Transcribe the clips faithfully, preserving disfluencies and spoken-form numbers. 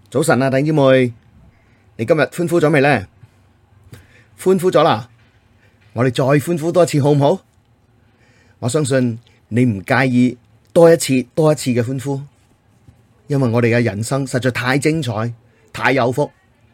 早晨啊，弟兄姊妹，你今日歡呼咗未呢？歡呼咗啦，我哋再歡呼多一次好唔好？我相信你唔介意多一次多一次嘅歡呼，因為我哋嘅人生實在太精彩，太有福。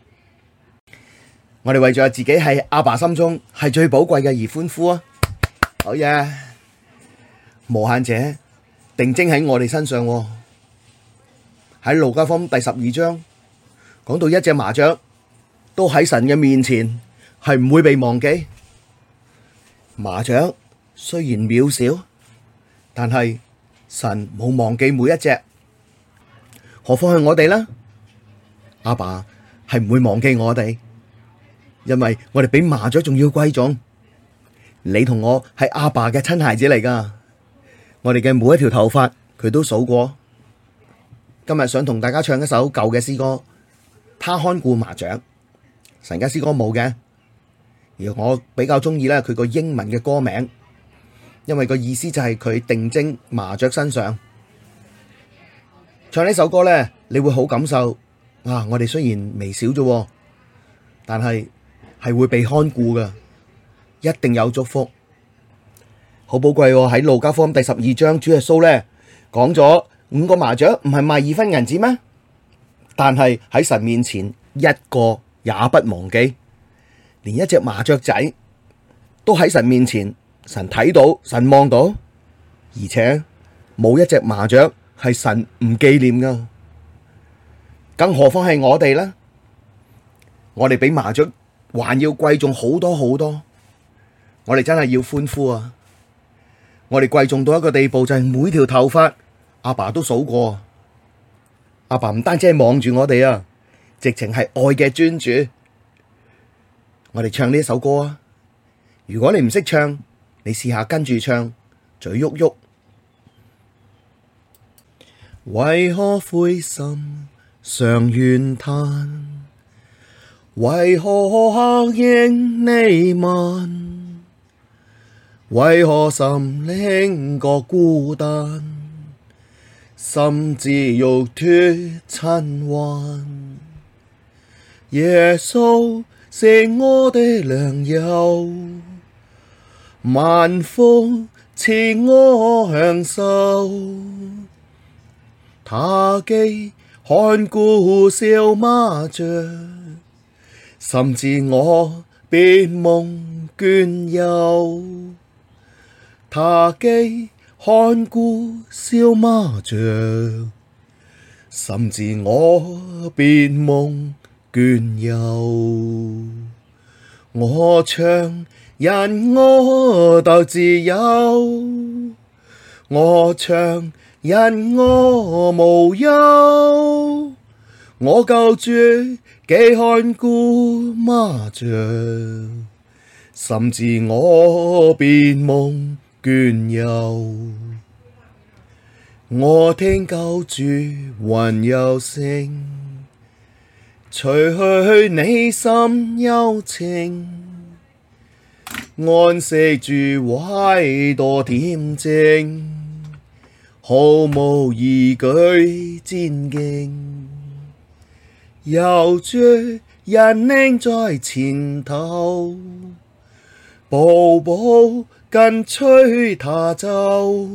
我哋為咗自己喺阿爸心中係最寶貴嘅而歡呼啊！好嘢，無限者定睛喺我哋身上喎。喺路加福音第十二章講到一隻麻雀都喺神嘅面前係唔會被忘記。麻雀雖然渺小，但係神冇忘記每一隻，何況係我哋呢？阿爸係唔會忘記我哋，因為我哋比麻雀仲要貴重。你同我係阿爸嘅親孩子嚟噶，我哋嘅每一條頭髮佢都數過。今日想同大家唱一首舊嘅詩歌，他看顧麻雀。神家詩歌冇嘅，而我比較中意咧佢個英文嘅歌名，因為個意思就係佢定睛麻雀身上。唱呢首歌咧，你會好感受啊！我哋雖然微小啫，但係係會被看顧噶，一定有祝福，好寶貴喎。喺路加福音第十二章，主耶穌咧講咗。五個麻雀唔係賣二分銀子咩？但係喺神面前一個也不忘記，連一隻麻雀仔都喺神面前，神睇到，神望到，而且冇一隻麻雀係神唔紀念噶，更何況係我哋呢？我哋比麻雀還要貴重好多好多，我哋真係要歡呼啊！我哋貴重到一個地步，就係每條頭髮。阿爸都數過，阿爸唔單止係望住我哋啊，直情係愛嘅專注。我哋唱呢首歌啊！如果你唔識唱，你試下跟住唱，嘴喐喐。為何灰心常怨嘆？為何黑影瀰漫？為何心靈覺孤單？甚至欲脫塵寰，耶穌是我的良友，萬福賜我享受。他既看顧小麻雀，甚至我必蒙眷佑。他既看顧小麻雀，甚至我必蒙眷佑。我唱因我得自由，我唱因我無憂。我救主既看顧麻雀，甚至我必蒙眷佑。我聽救主溫柔聲，吹去你心憂情，安息主懷多恬靜，毫無疑懼戰兢，有主引領在前頭，步步跟隨他走。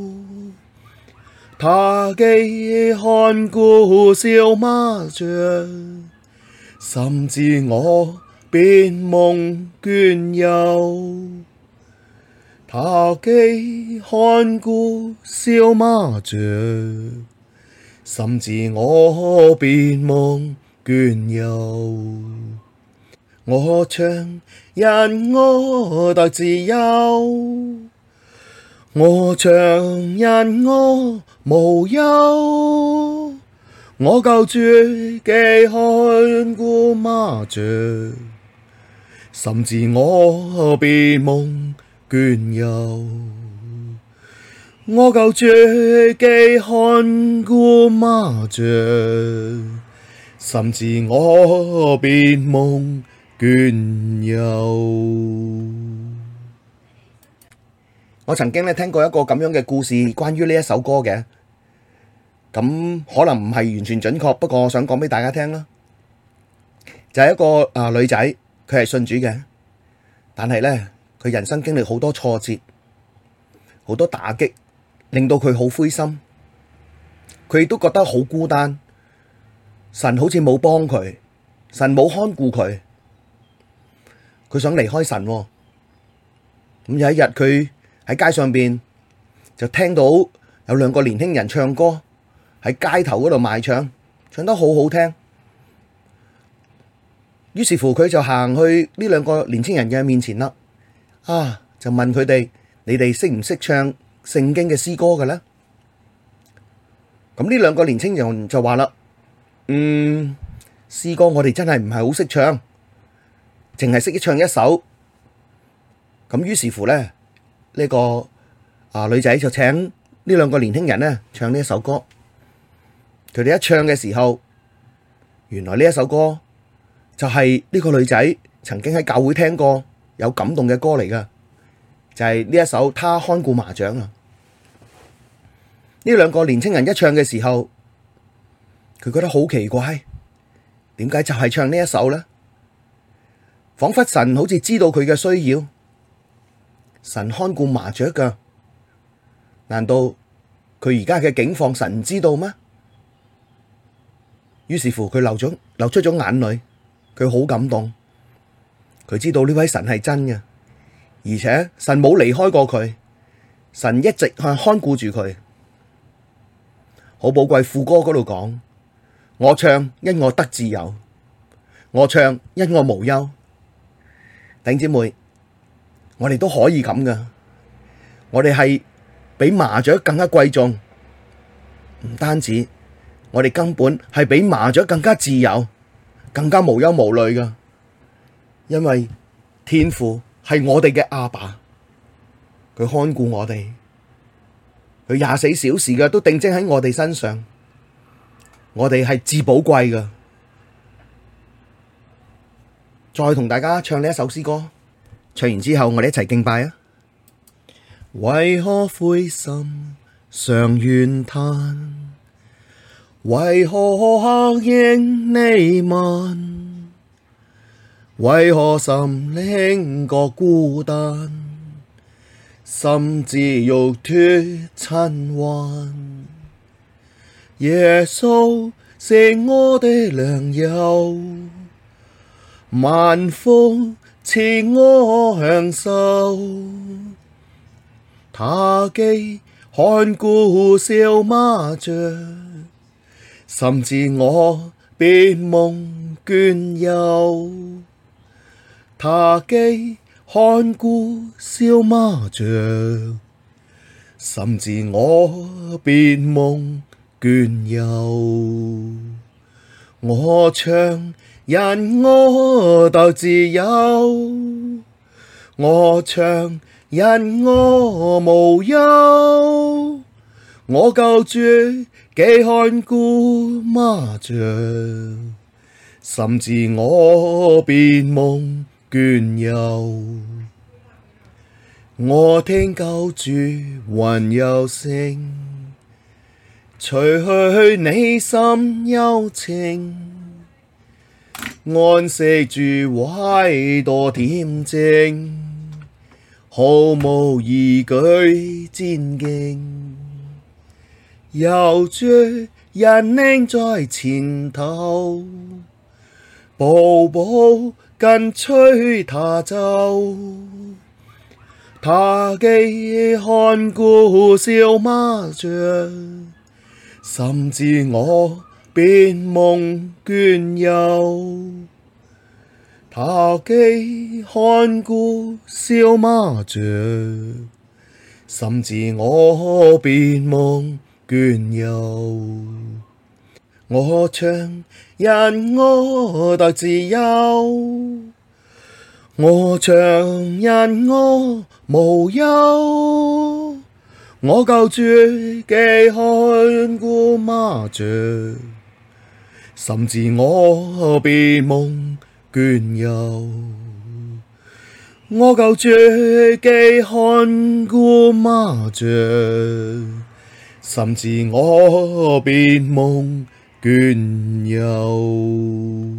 他既看顧小麻雀，甚至我必蒙眷佑。他既看顧小麻雀，甚至我必蒙眷佑。我唱因我得自由，我唱因我無憂。我救主既看顧麻雀，甚至我必蒙眷佑。我救主既看顧麻雀，甚至我必蒙眷佑。我曾經咧聽過一個咁樣嘅故事，關於呢一首歌嘅。 咁可能唔係完全準確，不過我想講俾大家聽啦，就係一個啊女仔，佢係信主嘅，但係咧佢人生經歷好多挫折，好多打擊，令到佢好灰心，佢亦都覺得好孤單，神好似冇幫佢，神冇看顧佢，佢想離開神喎。咁有一日佢喺街上邊就聽到有兩個年輕人唱歌。喺街頭嗰度賣唱，唱得好好聽。於是乎佢就行去呢兩個年輕人嘅面前啦，啊，就問佢哋：你哋識唔識唱聖經嘅詩歌嘅咧？咁呢兩個年輕人就話啦：嗯，詩歌我哋真係唔係好識唱，淨係識唱一首。咁於是乎咧，呢個啊女仔就請呢兩個年輕人咧唱呢一首歌。佢哋一唱嘅時候，原來呢一首歌就係呢個女仔曾經喺教會聽過有感動嘅歌嚟噶，就係呢一首《他看顧麻雀》啊。呢兩個年青人一唱嘅時候，佢覺得好奇怪，點解就係唱呢一首呢？仿佛神好似知道佢嘅需要，神看顧麻雀噶，難道佢而家嘅境況神唔知道咩？於是乎佢流咗流出咗眼淚，佢好感動，佢知道呢位神係真嘅，而且神冇離開過佢，神一直係看顧住佢。好寶貴，副歌嗰度講：我唱因我得自由，我唱因我無憂。弟兄姊妹，我哋都可以咁噶，我哋係比麻雀更加貴重，唔單止。我哋根本係比麻雀更加自由，更加無憂無慮噶，因為天父係我哋嘅阿爸，佢看顧我哋，佢廿四小時嘅都定睛喺我哋身上，我哋係至寶貴噶。再同大家唱呢一首詩歌，唱完之後我哋一齊敬拜啊！為何灰心常怨嘆？為何黑影瀰漫？為何心靈覺孤單？甚至欲脫塵寰？耶穌是我的良友，萬福賜我享受。他既看顧小麻雀，甚至我必蒙眷佑。他既看顧小麻雀，甚至我必蒙眷佑。我唱因我得自由，我唱因我無憂。我救主既看顧麻雀，甚至我必蒙眷佑。我聽救主溫柔聲，吹去你心憂情，安息主懷多恬靜，毫無疑懼戰兢。有主引領在前頭，步步跟隨他走。他既看顧小麻雀，甚至我必蒙眷佑。他既看顧小麻雀，甚至我必蒙眷佑。我唱因我得自由，我唱因我無憂。我救主既看顧麻雀，甚至我必蒙眷佑。我救主既看顧麻雀， 甚至我必蒙眷佑。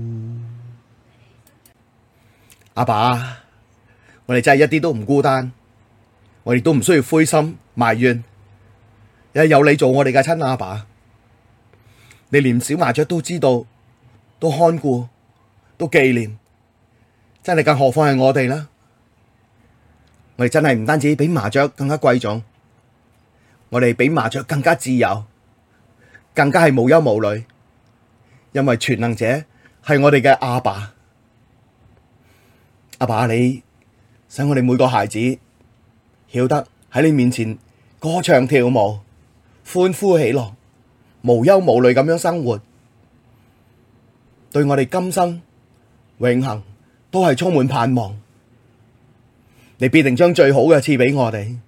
阿爸，我哋真係一啲都唔孤單，我哋都唔需要灰心埋怨，因為有你做我哋嘅親阿爸，你連小麻雀都知道，都看顧，都紀念，真係更何況係我哋啦。我哋真係唔單止比麻雀更加貴重，我哋比麻雀更加自由，更加係無憂無慮，因為全能者係我哋嘅阿爸。阿爸，你使我哋每個孩子曉得喺你面前歌唱跳舞，歡呼喜樂，無憂無慮咁樣生活，對我哋今生永恆都係充滿盼望。你必定將最好嘅賜俾我哋。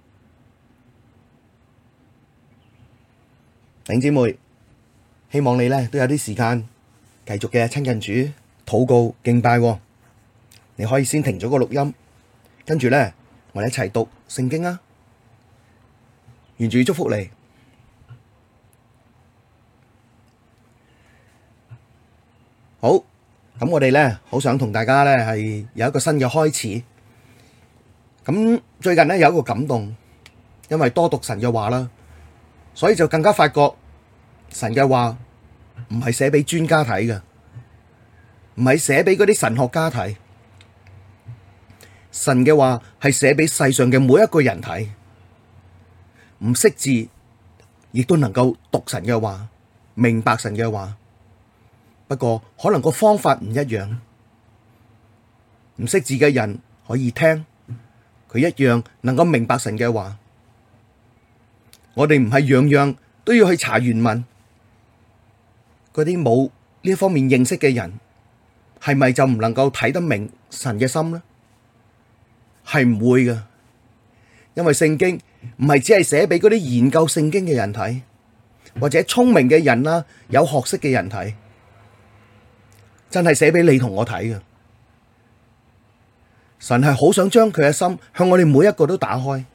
弟兄姊妹，希望你咧都有啲時間繼續嘅親近主、禱告、敬拜。你可以先停咗個錄音，跟住咧我哋一齊讀聖經啊！願主祝福你。好，咁我哋咧好想同大家咧係有一個新嘅開始。咁最近咧有一個感動，因為多讀神嘅話啦，所以就更加發覺神嘅話唔係寫俾專家睇嘅，唔係寫俾嗰啲神學家睇。神嘅話係寫俾世上嘅每一個人睇，唔識字亦都能夠讀神嘅話，明白神嘅話。不過可能個方法唔一樣，唔識字嘅人可以聽。佢一樣能夠明白神嘅話，我哋唔係樣樣都要去查原文。嗰啲冇呢方面認識嘅人，係咪就唔能夠睇得明神嘅心呢？係唔會㗎，因為聖經唔係只係寫俾嗰啲研究聖經嘅人睇，或者聰明嘅人啦、有學識嘅人睇，真係寫俾你同我睇㗎。神係好想將佢嘅心向我哋每一個都打開，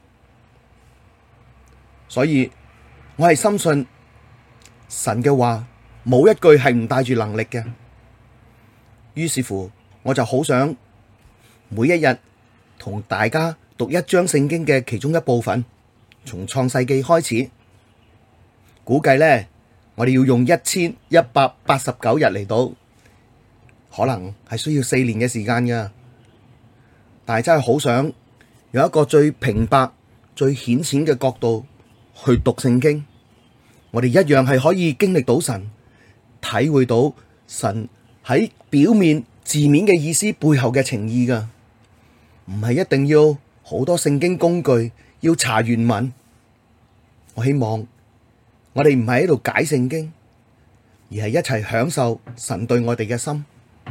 所以我係深信神嘅話冇一句係唔帶住能力嘅。於是乎，我就好想每一日同大家讀一章聖經嘅其中一部分，從創世記開始。估計呢，我哋要用一千一百八十九日嚟讀，可能係需要四年嘅時間噶。但係真係好想用一個最平白、最顯淺嘅角度去讀聖經，我哋一樣係可以經歷到神，體會到神喺表面字面嘅意思背後嘅情意噶，唔係一定要好多聖經工具要查原文。我希望我哋唔係喺度解聖經，而係一齊享受神對我哋嘅心。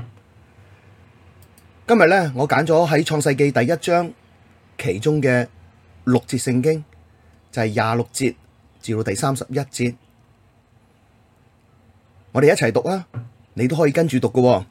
今日咧，我揀咗喺創世記第一章其中嘅六節聖經，就係廿六節至到第三十一節，我哋一齊讀啊！你都可以跟住讀㗎。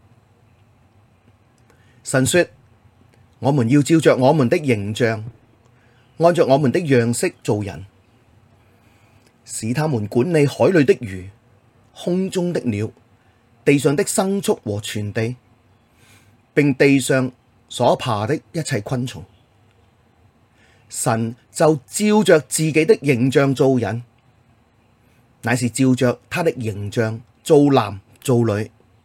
神說：我們要照着我們的形象，按着我們的樣式造人，使他們管理海裡的魚、空中的鳥、地上的牲畜和全地，並地上所爬的一切昆蟲。神就照着自己的形象造人，乃是照着他的形象造男造女。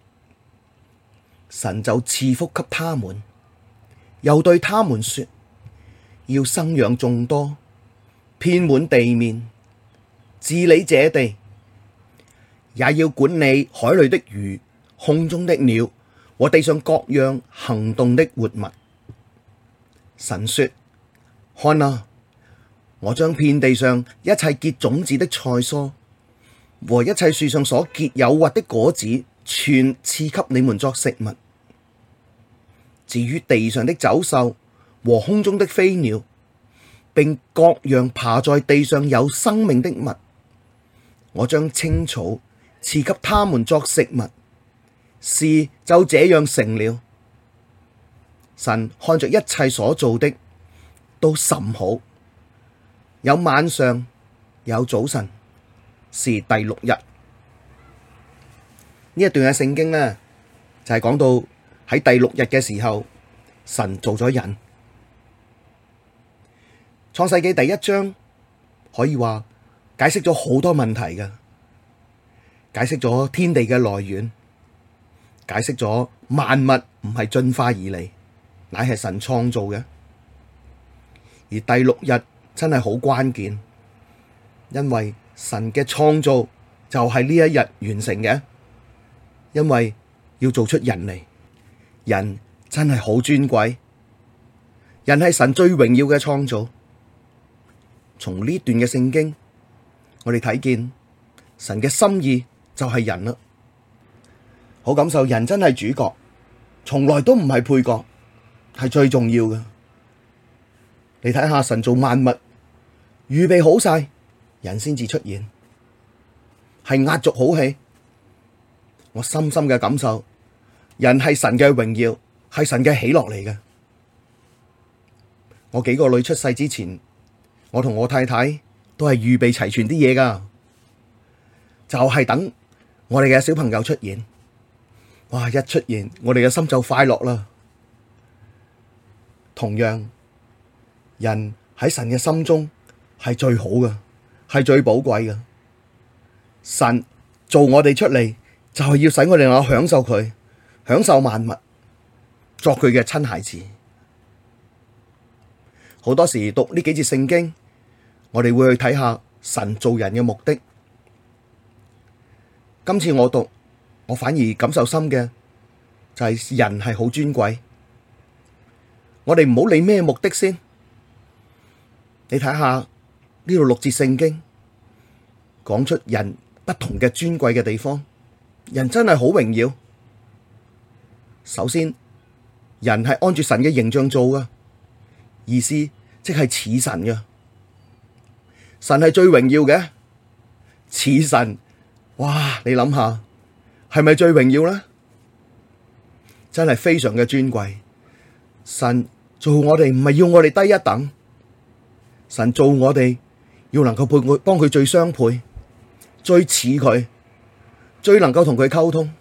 神就賜福給他們，又對他們說：要生養眾多，遍滿地面，治理這地，也要管理海裡的魚、空中的鳥和地上各樣行動的活物。神說：看啊，我將遍地上一切結種子的菜蔬和一切樹上所結有核的果子，全賜給你們作食物。至於地上的走獸和空中的飛鳥，並各樣爬在地上有生命的物，我將青草賜給他們作食物。事就這樣成了。神看着一切所造的都甚好。有晚上， 有早晨，是第六日。呢一段嘅聖經呢，就係講到喺第六日嘅時候，神做咗人。創世記第一章可以話解釋咗好多問題嘅，解釋咗天地嘅來源，解釋咗萬物唔係進化而嚟，乃係神創造嘅。而第六日真係好關鍵，因為神嘅創造就係呢一日完成嘅，因為要做出人嚟，人真係好尊貴，人係神最榮耀嘅創造。從呢段嘅聖經，我哋睇見神嘅心意就係人啦，好感受人真係主角，從來都唔係配角，係最重要嘅。你睇下神做萬物，預備好晒，人先至出現，係壓軸好戲。我深深嘅感受，人係神嘅榮耀，係神嘅喜樂嚟嘅。我幾個女出世之前，我同我太太都係預備齊全啲嘢噶，就係等我哋嘅小朋友出現。哇！一出現，我哋嘅心就快樂啦。同樣，人喺神嘅心中係最好嘅，係最寶貴嘅。神做我哋出嚟，就係要使我哋能夠享受佢，享受萬物，作佢嘅親孩子。好多時讀呢幾節聖經，我哋會去睇下神造人嘅目的。今次我讀，我反而感受深嘅就係人係好尊貴。我哋唔好理咩目的先，你睇下呢度六節聖經講出人不同嘅尊貴嘅地方，人真係好榮耀。首先，人係按住神嘅形象做噶，意思即係似神嘅。神係最榮耀嘅，似神，哇！你諗下，係咪最榮耀呢？真係非常嘅尊貴。神做我哋唔係要我哋低一等，神做我哋要能夠配佢，幫佢最相配，最似佢，最能夠同佢溝通。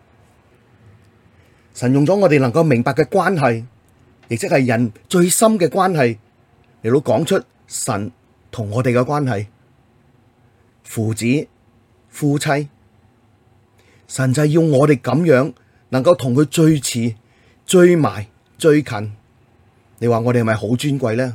神用咗我哋能夠明白嘅關係，亦即係人最深嘅關係，嚟到講出神同我哋嘅關係，父子、夫妻，神就係要我哋咁樣，能夠同佢最似、最埋、最近。你話我哋係咪好尊貴呢？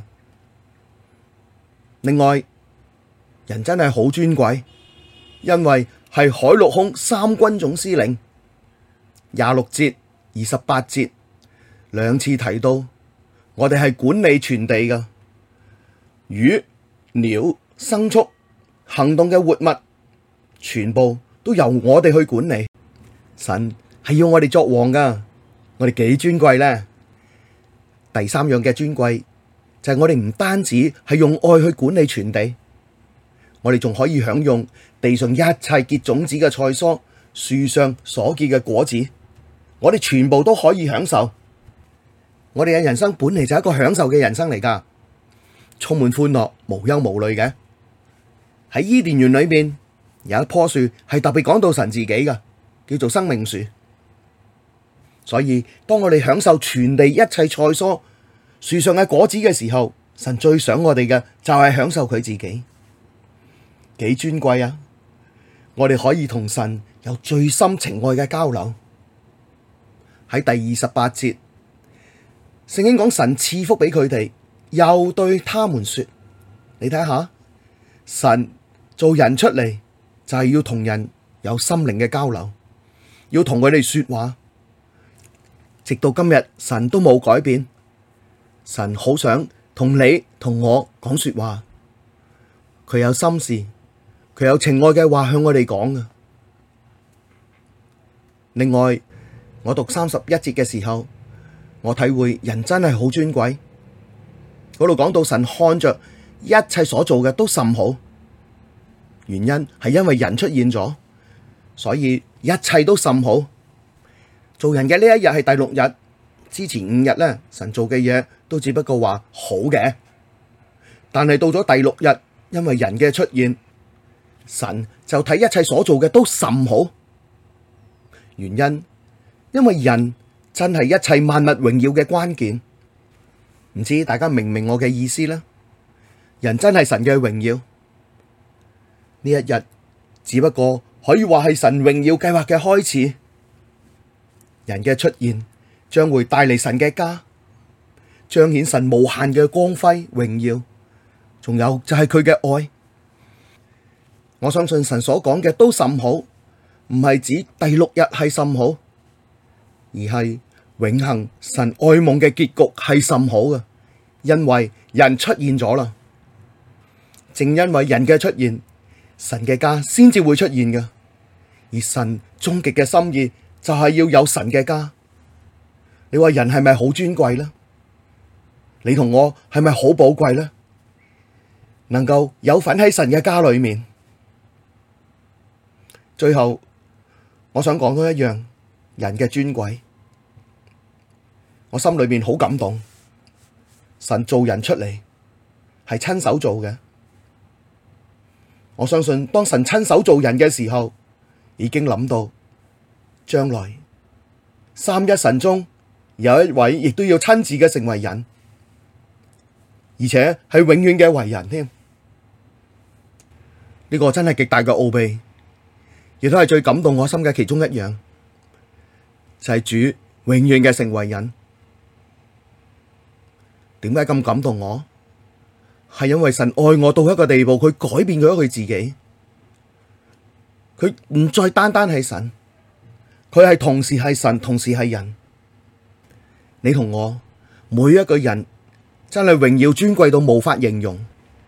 另外，人真係好尊貴，因為係海陸空三軍總司令。廿六節、二十八節兩次提到，我哋係管理全地㗎，魚、鳥、牲畜、行動嘅活物，全部都由我哋去管理。神係要我哋作王㗎，我哋幾尊貴呢？第三樣嘅尊貴就係我哋唔單止係用愛去管理全地，我哋仲可以享用地上一切結種子嘅菜蔬，樹上所結嘅果子，我哋全部都可以享受。我哋嘅人生本嚟就係一個享受嘅人生嚟㗎，充滿歡樂，無憂無慮嘅。喺伊甸園裏面有一棵樹係特別講到神自己㗎，叫做生命樹。所以當我哋享受全地一切菜蔬、樹上嘅果子嘅時候，神最想我哋嘅就係享受佢自己，幾尊貴啊！我哋可以同神有最深情愛嘅交流。喺第二十八節，聖經講神賜福俾佢哋，又對他們說：你睇下，神做人出嚟就係要同人有心靈嘅交流，要同佢哋說話。直到今日，神都冇改變。神好想同你同我講說話，佢有心事，佢有情愛嘅話向我哋講㗎。另外，我讀三十一節嘅時候，我體會人真係好尊貴。嗰度講到神看着一切所做嘅都甚好，原因係因為人出現咗，所以一切都甚好。做人嘅呢一日係第六日，之前五日咧，神做嘅嘢都只不過話好嘅，但係到咗第六日， 因為人嘅出現，神就睇一切所做嘅都甚好。原因，因為人真係一切萬物榮耀嘅關鍵。唔知大家明唔明我嘅意思呢？人真係神嘅榮耀。呢一日只不過可以話係神榮耀計劃嘅開始。人嘅出現將會帶嚟神嘅家，彰顯神無限嘅光輝榮耀。仲有就係佢嘅愛。我相信神所講嘅都甚好，唔係指第六日係甚好，而係永恆神愛夢嘅結局係甚好嘅，因為人出現咗啦。正因為人嘅出現，神嘅家先至會出現嘅。而神終極嘅心意就係要有神嘅家。你話人係咪好尊貴呢？你同我係咪好寶貴呢？能夠有份喺神嘅家裏面。最後，我想講多一樣，人嘅尊貴。我心裏面好感動，神造人出嚟係親手做嘅。我相信當神親手造人嘅時候，已經諗到將來三一神中有一位亦都要親自嘅成為人，而且係永遠嘅為人添。呢個真係極大嘅奧秘，亦都係最感動我心嘅其中一樣，就係主永遠嘅成為人。點解咁感動我？係因為神愛我到一個地步，佢改變咗佢自己，佢唔再單單係神，佢係同時係神，同時係人。你同我每一個人真係榮耀尊貴到無法形容。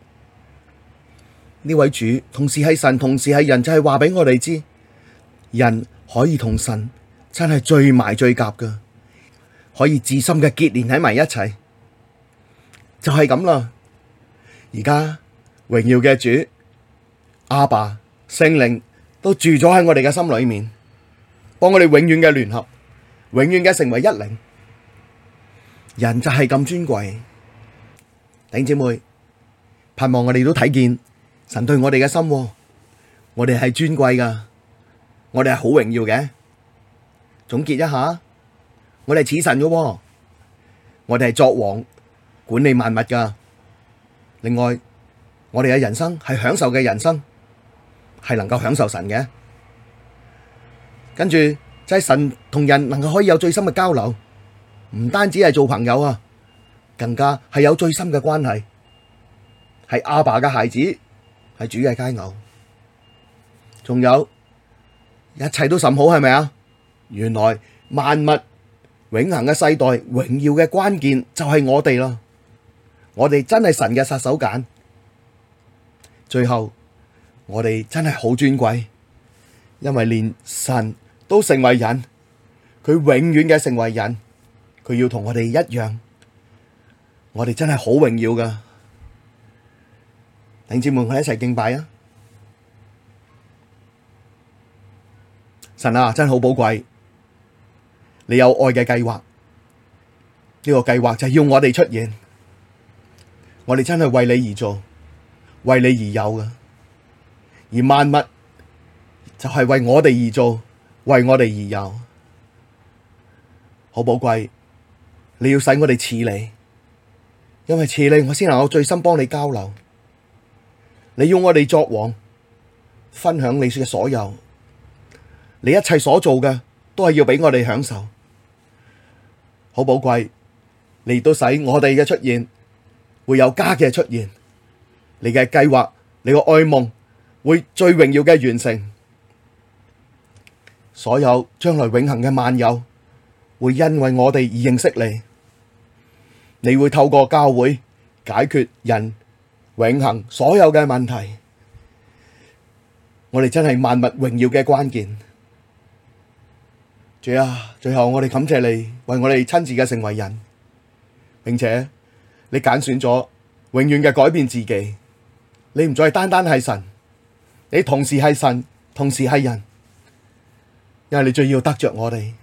呢位主同時係神，同時係人，就係話俾我哋知，人可以同神真係最埋最夾噶，可以至深嘅結連喺埋一齊，就係咁啦。而家榮耀嘅主阿爸聖靈都住咗喺我哋嘅心裏面，幫我哋永遠嘅聯合，永遠嘅成為一靈。人就係咁尊貴，弟兄姊妹，盼望我哋都睇見神對我哋嘅心，我哋係尊貴噶，我哋係好榮耀嘅。總結一下，我哋似神噶，我哋係作王管理萬物噶。另外，我哋嘅人生係享受嘅人生，係能夠享受神嘅。跟住就係神同人能夠可以有最深嘅交流，唔單止係做朋友啊，更加係有最深嘅關係，係阿爸嘅孩子，係主嘅佳偶。仲有一切都甚好，係咪啊？原來萬物永恆嘅世代榮耀嘅關鍵就係我哋啦。我哋真係神嘅殺手鐧。最後我哋真係好尊貴，因為連神都成為人，佢永遠嘅成為人，佢要同我哋一樣，我哋真係好榮耀噶。弟兄姊妹，我哋一齊敬拜啊！神啊，真係好寶貴，你有愛嘅計劃，呢個計劃就係要我哋出現。我哋真係為你而做，為你而有嘅，而萬物就係為我哋而做，為我哋而有，好寶貴。你要使我哋似你，因為似你，我先能夠最深幫你交流。你要我哋作王，分享你嘅所有，你一切所做嘅都係要俾我哋享受，好寶貴。你亦都使我哋嘅出現會有家嘅出現，你嘅計劃，你個愛夢會最榮耀嘅完成，所有將來永恆嘅萬有會因為我哋而認識你，你會透過教會解決人永恆所有嘅問題，我哋真係萬物榮耀嘅關鍵。主啊，最後我哋感謝你為我哋親自嘅成為人，並且你揀選咗永遠嘅改變自己，你唔再單單係神，你同時係神，同時係人，因為你最要得着我哋。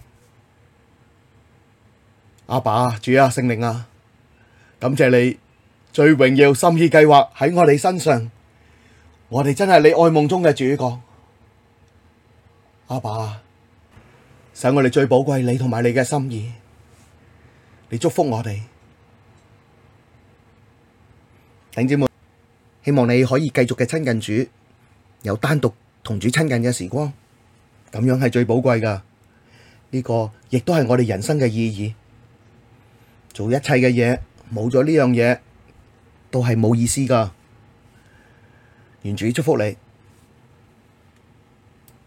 阿爸，主啊，聖靈啊，感謝你最榮耀心意計劃喺我哋身上， 我哋真係你愛夢中嘅主角，阿爸，使我哋最寶貴你同埋你嘅心意，你祝福我哋。弟兄姊妹，希望你可以繼續嘅親近主，有單獨同主親近嘅時光，咁樣係最寶貴噶。呢個亦都係我哋人生嘅意義。做一切嘅嘢，冇咗呢樣嘢，都係冇意思噶。願主祝福你。